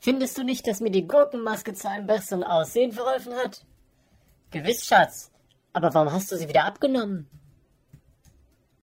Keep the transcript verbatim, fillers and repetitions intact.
Findest du nicht, dass mir die Gurkenmaske zu einem besseren Aussehen verholfen hat? Gewiss, Schatz. Aber warum hast du sie wieder abgenommen?